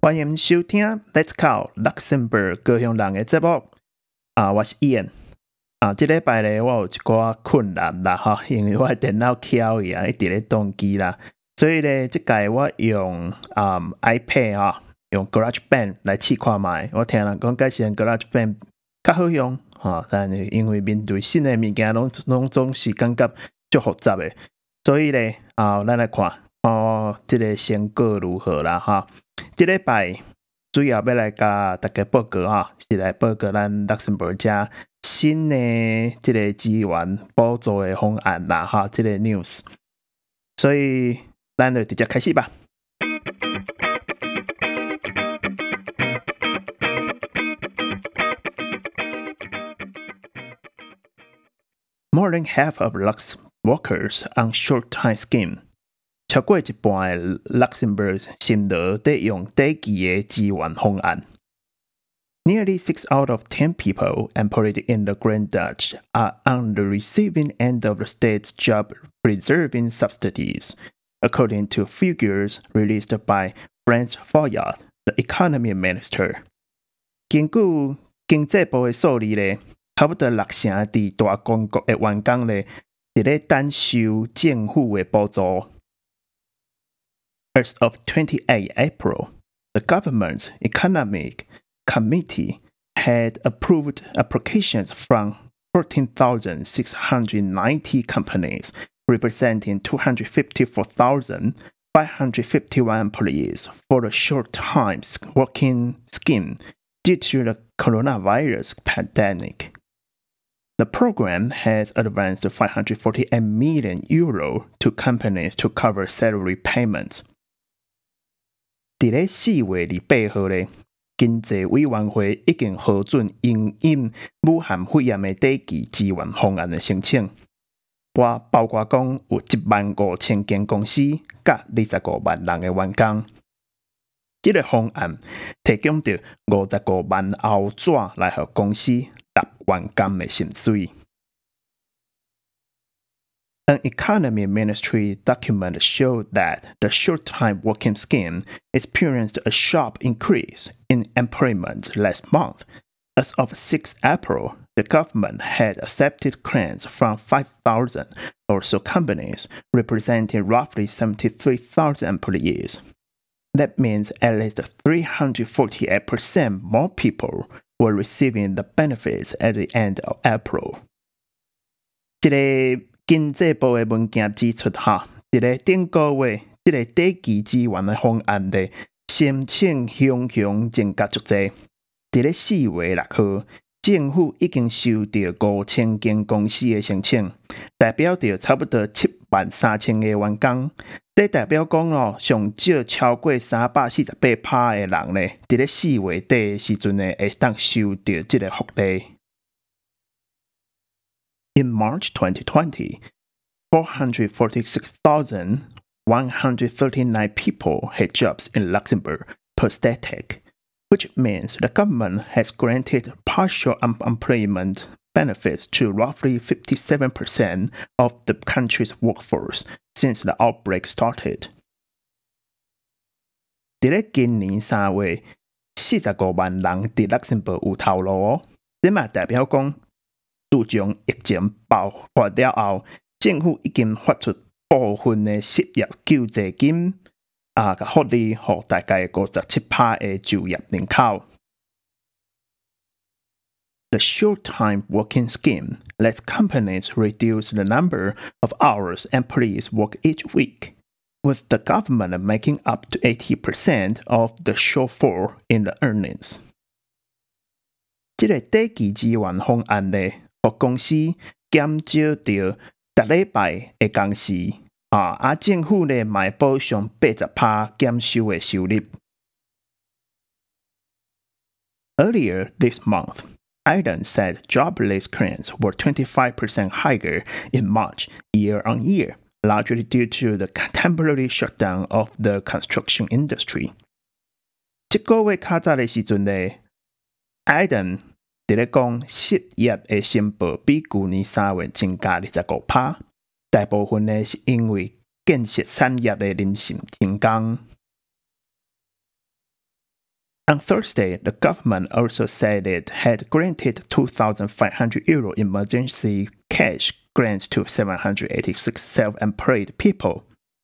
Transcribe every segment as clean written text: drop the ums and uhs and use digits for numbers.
欢迎收听 Let's Call Luxembourg 高雄人的节目我是 Ian 这礼拜咧我有一寡困难啦因为我的电脑翘去一直咧宕机啦，所以咧这届我用iPad 用 GarageBand 来试看卖。我听人讲介绍 GarageBand 较好用但是因为面对新的物件拢总是感觉足复杂的，所以咧咱来看这个成果如何啦这礼拜主要要来甲大家报告是来报告咱 Luxembourg 这新的这个资源补助的方案啦这个 news， 所以咱就直接开始吧。More than half of Lux workers on short-time scheme， 超过一半的 Luxembourg 心得在用短期的资源方案。Nearly 6 out of 10 people employed in the Grand Dutch are on the receiving end of the state's job-preserving subsidies, according to figures released by Frans Fayad, the economy minister. 根據經濟部的數字咧，差不多60%在大公國的員工咧，在咧等受政府的補助。As of 28 April, the government's economic committee had approved applications from 14,690 companies, representing 254,551 employees for the short-time working scheme due to the coronavirus pandemic. The program has advanced €548 million to companies to cover salary payments. 在4月28號咧，經濟委員會已經核准因應武漢肺炎的短期支援方案的申請，包括講有15000間公司甲25萬人的員工。這個方案提供着55萬歐紙來予公司納員工的薪水。An economy ministry document showed that the short-time working scheme experienced a sharp increase in employment last month. As of 6 April, the government had accepted claims from 5,000 or so companies, representing roughly 73,000 employees. That means at least 348% more people were receiving the benefits at the end of April. 這個經濟部的文件指出這個頂個月這個短期支援的方案的申請熊增加足濟。在4月6號，政府已經收到5000間公司的申請，代表着差不多73000個員工。這代表講上少超過348%的人咧，在4月底的時陣咧，會當收到這個福利。In March 2020, 446,139 people had jobs in Luxembourg per Statec, which means the government has granted partial unemployment benefits to roughly 57% of the country's workforce since the outbreak started. 在今年3月，45萬人在 Luxembourg 有頭路這嘛代表講，自從疫情爆發了後，政府已經發出部分的失業救濟金福利給大概57%的就業人口。The short-time working scheme lets companies reduce the number of hours employees work each week, with the government making up to 80% of the shortfall in the earnings. 這個短期支援方案咧，予公司減少到每禮拜的工時政府咧買補償80%減收的收入。Earlier this month, Iden said jobless claims were 25% higher in March year on year, largely due to the temporary shutdown of the construction industry. 這個月較早的時陣咧 ，Iden 在咧講失業的申報比去年3月增加25%，大部分咧是因為建設產業的臨時停工。 On Thursday, the government also said it had granted €2,500 emergency cash grants to 786 self-employed people,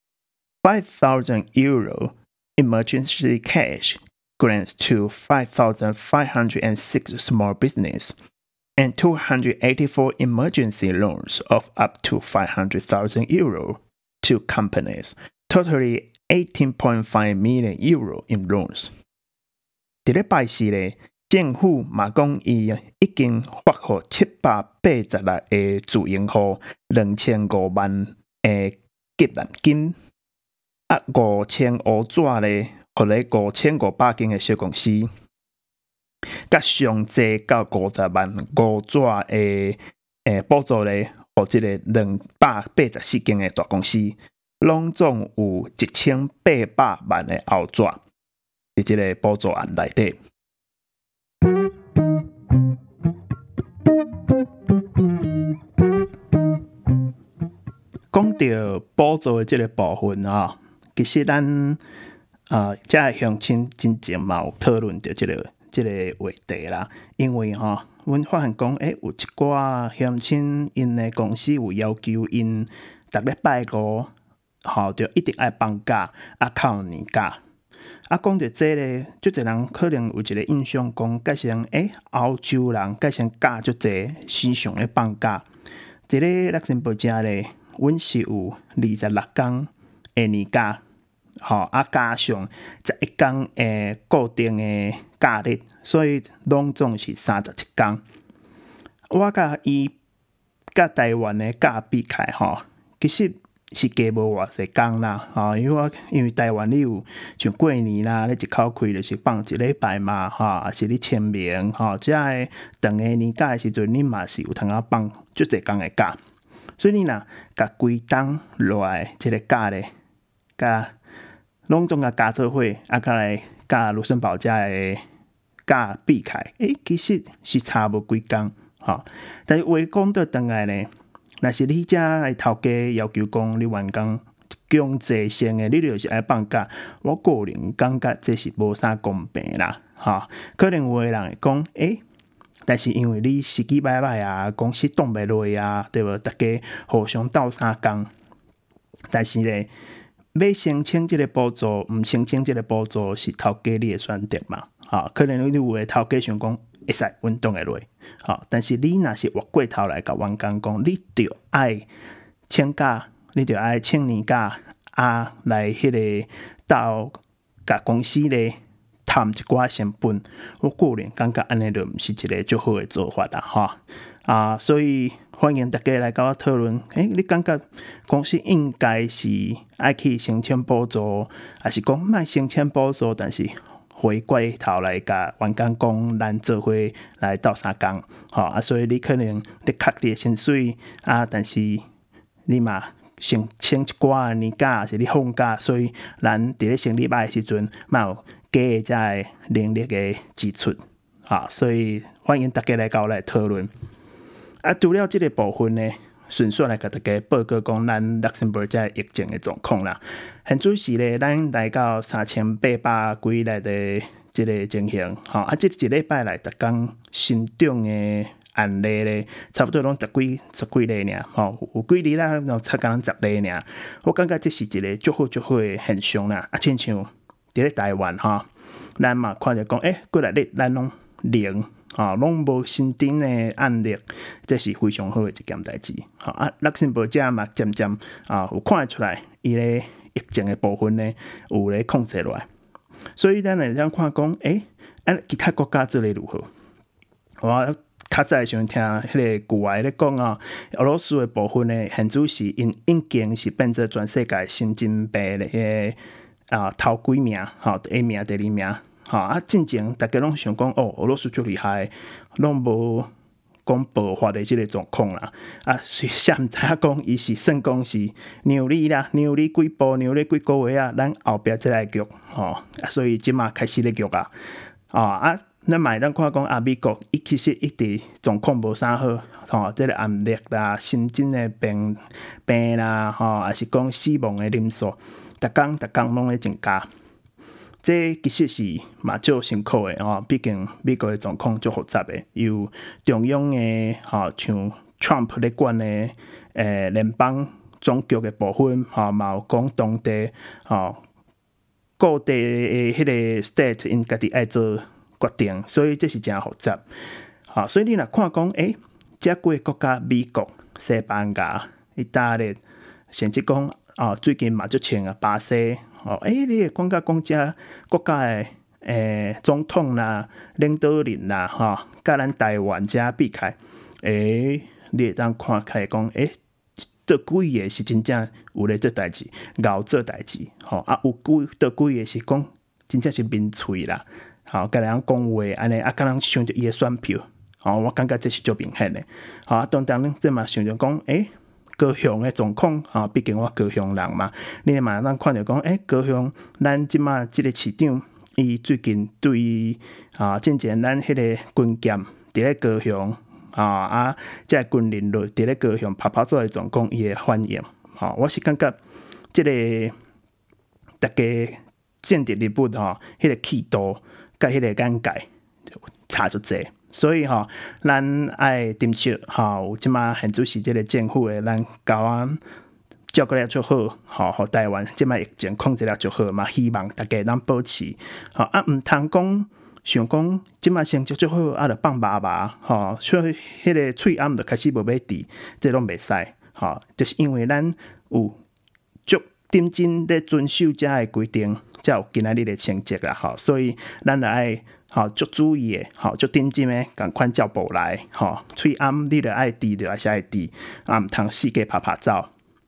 €5,000 emergency cash grants to 5,506 small businesses, and 284 emergency loans of up to €500,000 to companies, totaling €18.5 million in loans. 在禮拜四咧，政府嘛講伊已經發予786個自營戶2500萬個急難金，5500紙咧，予咧5500間個小公司，甲上濟到50萬5紙個補助咧，予即個284間個大公司，攏總有1800萬個後紙。在這個補助案內底，講到補助的這個部分啊，其實咱這鄉親真正嘛有討論到這個話題啦，因為阮發現講，有一寡鄉親因的公司有要求因逐禮拜五就一定愛放假，扣年假。講到這咧，足儕人可能有一個印象講，改成歐洲人改成假足儕，時常咧放假。這個勒森堡遮咧，阮是有26天的年假，加上11天固定的假日，所以攏總是37天。我甲伊甲台灣的假比起來，其實是加無偌濟工啦，因為台灣你有像過年啦，你一口氣就是放一禮拜嘛，還是你清明，這個長個年假的時陣，你嘛是有通啊放足濟工的假，所以你若甲規冬落來這個假咧，甲攏總甲加做伙，甲來甲盧森堡遮的假比起來，其實是差無幾工，但是話講倒轉來咧。若是你遮的頭家要求講，你員工強制性的，你就是愛放假，我個人感覺這是無啥公平啦，可能有個人會講，但是因為你時機歹歹啊，公司擋袂落啊，對無？大家互相鬥相共，但是咧，要申請這個補助，唔申請這個補助是頭家你的選擇嘛，可能你有個頭家想講。會使運動的落，但是你若是越過頭來甲員工講，你著愛請假，你著愛請年假，來迄個到甲公司咧談一寡成本，我個人感覺安尼就毋是一個最好的做法啦，所以歡迎大家來甲我討論，你感覺公司應該是愛去申請補助，還是講莫申請補助，但是回過頭來甲員工講，咱做伙來鬥相共，所以你可能你扣你的薪水但是你嘛先請一寡年假，是你放假，所以咱佇咧成禮拜的時陣，嘛有加的這個能力的支出，所以歡迎大家來甲我來討論。除了這個部分呢，順續來甲大家報告講咱勒森堡遮疫情的狀況啦。現主時咧，咱來到3800幾例的這個情形，這一禮拜來逐工新漲的案例咧，差不多攏十幾例爾，有幾日啦，然後才講10例爾。我感覺這是一個足好的現象啦。親像佇咧台灣咱嘛看着講，幾來日咱攏零。攏無新增的案例，這是非常好的一件代誌。勒森堡遮嘛漸漸有看出來，伊咧疫情的部分呢有咧控制落來。所以咱來這樣看講，其他國家做咧如何？我較早時陣聽迄個國外咧講俄羅斯的部分呢，現主是因已經是變做全世界神經病的頭幾名，第一名、第二名。進前大家攏想講，俄羅斯最厲害，攏無講爆發的這個狀況啦。雖然毋知影講，伊是算講是讓你啦，讓你幾步，讓你幾個月咱後壁才來局，所以即馬開始咧局咱嘛咱看講美國伊其實一直狀況無啥好，這個壓力啦、新增的病啦，還是講死亡的人數，逐工攏咧增加。 这其实是嘛足辛苦的吼，毕竟美国的状况足复杂的，有中央的吼，像 Trump 咧管的联邦总局的部分吼，嘛有讲当地吼各地的迄个 state 因家己爱做决定，所以这是真复杂。吼，所以你若看讲，遮几个国家，美国、西班牙、意大利，甚至讲最近嘛足像巴西。你会感觉讲遮国家的总统领导人甲咱台湾遮比起来，你会当看起来讲，倒几个是真正有咧做代志，熬做代志，有倒几个是讲真正是面喙啦，甲人讲话安尼，甲人想着伊的选票，我感觉这是足明显的，当然这嘛想着讲，高雄的状况，毕竟我高雄人嘛，你嘛咱看着讲，高雄咱即马即个市长，伊最近对于之前咱迄个军舰伫咧高雄，即军人落伫咧高雄拍走的状况，伊的反应，我是感觉即个大家政治人物迄个气度甲迄个眼界差足济。所以咱爱珍惜有即马现主是即个政府的，咱交照顾了足好，互台湾即马疫情控制了足好嘛。希望大家能保持毋通讲想讲即马成绩足好，就放麻麻所以迄个喙暗就开始无要治，这拢袂使就是因为咱有足认真咧遵守遮的规定，才有今仔日的成绩啦所以咱就爱足注意的，足认真的，共款照步来，喙暗你就爱治，就还是爱治，毋通四界拍走。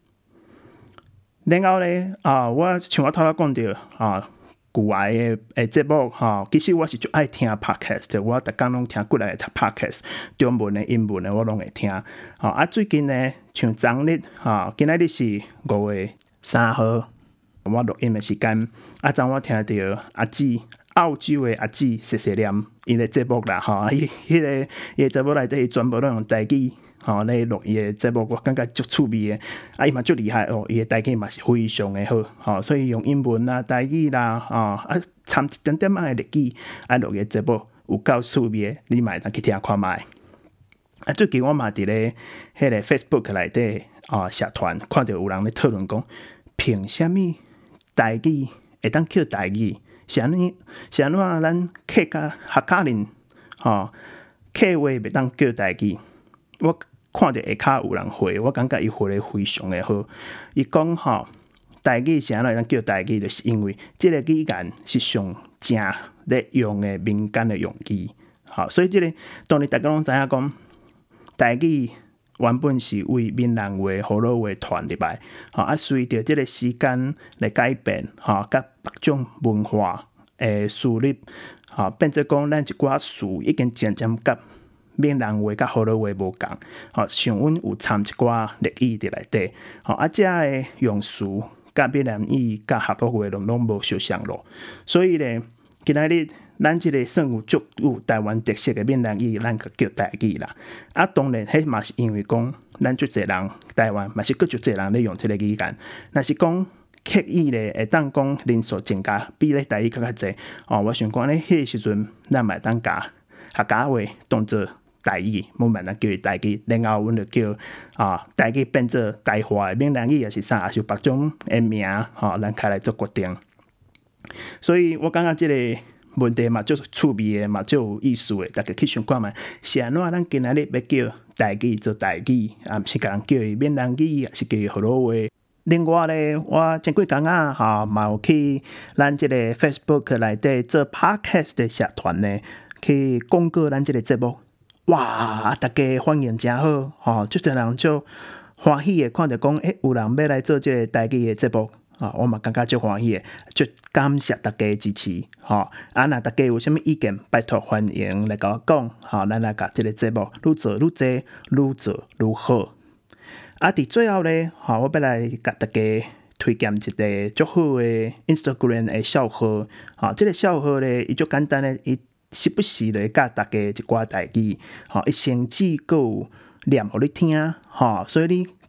然后咧，我像我头仔讲着古外的节目其实我是足爱听 podcast， 我逐工拢听几来 podcast， 中文的、英文的我拢会听。最近呢，像昨日今仔日是5月3号，我录音的时间，昨我听着阿姊。澳洲的阿姊谢谢念伊的节目啦，伊的节目内底全部都用台语咧录伊的节目，我感觉足趣味的，伊嘛足厉害伊的台语嘛是非常的好，所以用英文台语啦，掺一点点的日语，录伊的节目有够趣味的，你嘛会当去听看卖。最近我嘛伫咧迄个 Facebook 内底社团看到有人咧讨论讲，凭啥物台语会当叫台语？是安怎咱客家客人客话袂当叫台语？我看着下骹有人回，我感觉伊回得非常的好。伊讲台语是安怎会当叫台语，就是因为即个语言是上正咧用的民间的用语。所以即个当然大家拢知影讲台语原本是为闽南话、河洛话传入来，随着即个时间来改变，甲别种文化诶输入，变做讲咱一寡词已经渐渐甲闽南话甲河洛话无共，像阮有掺一寡日语伫内底，遮诶用词甲闽南语甲河洛话拢无相像咯，所以咧，今仔日咱即个算有足有台湾特色的闽南语，咱个叫台语啦。当然，迄嘛是因为讲，咱足侪人台湾嘛是足侪人咧用即个语言。若是讲刻意咧，会当讲人数增加，比咧台语较济。我想讲咧，迄个时阵，咱嘛会当甲客家话当做台语，冇慢咱叫伊台语，然后阮就叫台语变做台话的闽南语，也是啥，也是别种的名咱开来做决定。所以我感觉即个问题嘛，足趣味的嘛，足有意思的，大家去想看觅，是安怎咱今仔日要叫台语做台语，毋是甲人叫伊闽南语，也是叫伊河洛话。另外咧，我前几工嘛有去咱即个 Facebook 内底做 Podcast 的社团呢，去广告咱即个节目。哇！大家反应真好，足侪人足欢喜的，看着讲，有人要来做即个台语的节目。我嘛感觉足欢喜的，足感谢大家的支持。若大家有啥物意见，拜托欢迎来甲我讲。咱来甲即个节目愈做愈济，愈做愈好。伫最后咧，我要来甲大家推荐一个足好的 Instagram 的账号。即个账号咧，伊足简单咧，伊时不时咧教大家一寡台语。伊甚至阁有念互你听。所以你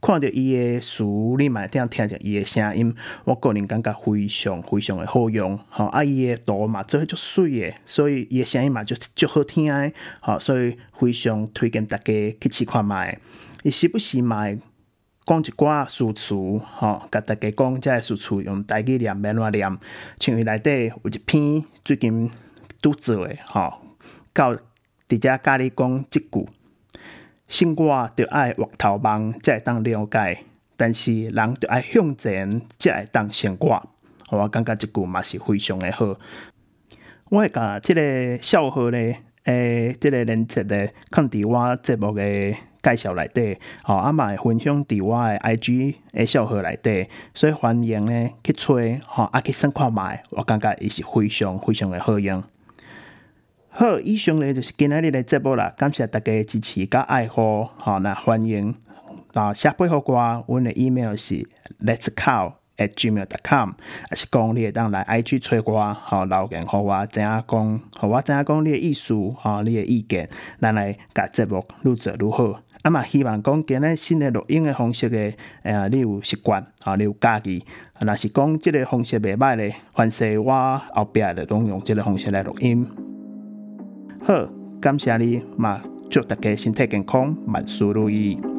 看到伊的词，你嘛听着伊的声音，我个人感觉非常非常的好用。伊的图嘛做足水的，所以伊的声音嘛就好听的。所以非常推荐大家去试看卖。伊时不时嘛会讲一寡诗词，甲大家讲这诗词用台语念免怎念。像伊内底有一篇最近拄做的，到伫遮甲你讲即句：生活着爱越头望，才会当了解；但是人着爱向前，才会当生活。我感觉即句嘛是非常的好。我会甲即个笑话咧，即个连接咧，放伫我节目的介绍内底，嘛会分享伫我的 IG 的笑话内底，所以欢迎咧去吹，去算看卖，我感觉伊是非常非常的好用。好，以上咧就是今仔日的节目啦，感谢大家的支持甲爱护，那欢迎写信互我，阮的 email 是 letscow@gmail.com， 还是讲你会当来 IG 找我，留言互我知影讲，互我知影讲你的意思，你的意见，咱来甲节目愈做愈好。嘛希望讲今日新的录音的方式的，你有习惯，你有家己。若是讲即个方式袂歹咧，凡是我后壁就拢用即个方式来录音。好，感谢你嘛，祝大家身体健康，万事如意。